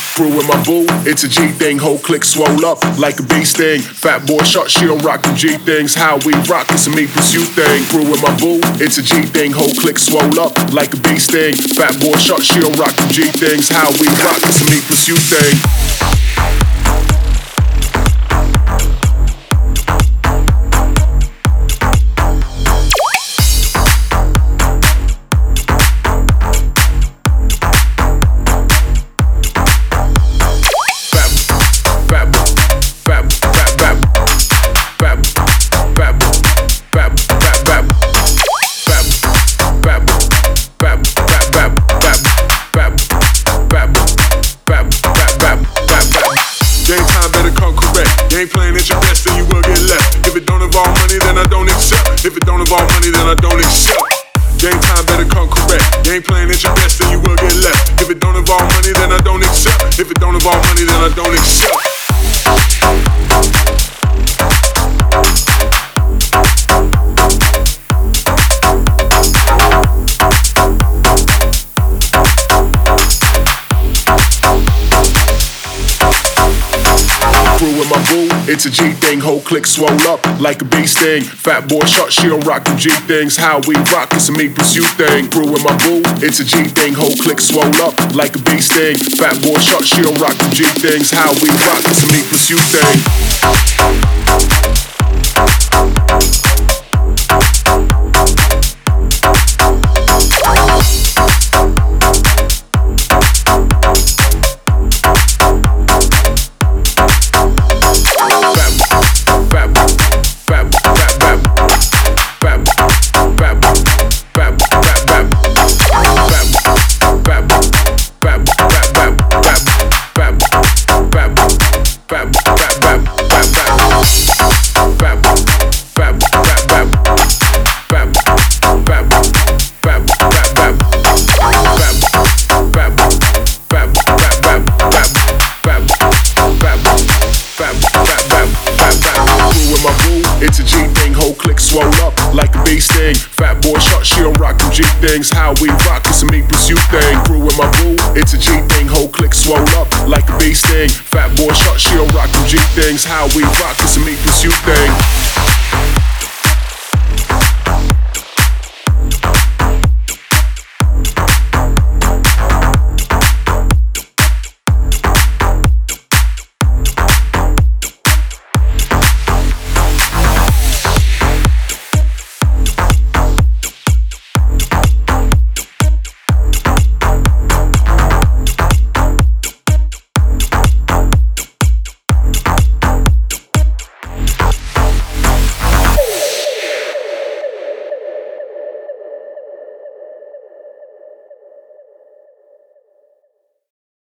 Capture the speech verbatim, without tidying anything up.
Brew with my boo, it's a G thing. Whole click swole up like a bee sting. Fat boy shot, she don't rock the G things. How we rock, it's a me pursue thing. Brew with my boo, it's a G thing. Whole click swole up like a bee sting. Fat boy shot, she don't rock the G things. How we rock, it's a me pursue thing. Ain't playing at your best, then you will get left. If it don't involve money, then I don't accept. If it don't involve money, then I don't accept. Game time better come correct. You ain't playing at your best, then you will get left. If it don't involve money, then I don't accept. If it don't involve money, then I don't accept. With my boo, it's a G thing. Whole click swole up like a bee sting. Fat boy shot, she don't rock the G things. How we rock, it's a me pursue thing. Brew with my boo, it's a G thing. Whole click swole up like a bee sting. Fat boy shot, she don't rock the G things. How we rock, it's a me pursue thing. It's a G thing, whole click swole up like a bee sting. Fat boy shot, she don't rock them G things. How we rock, it's a me pursue thing. Brew with my boo, it's a G thing, whole click swole up like a bee sting. Fat boy shot, she don't rock them G things. How we rock, it's a me pursue thing.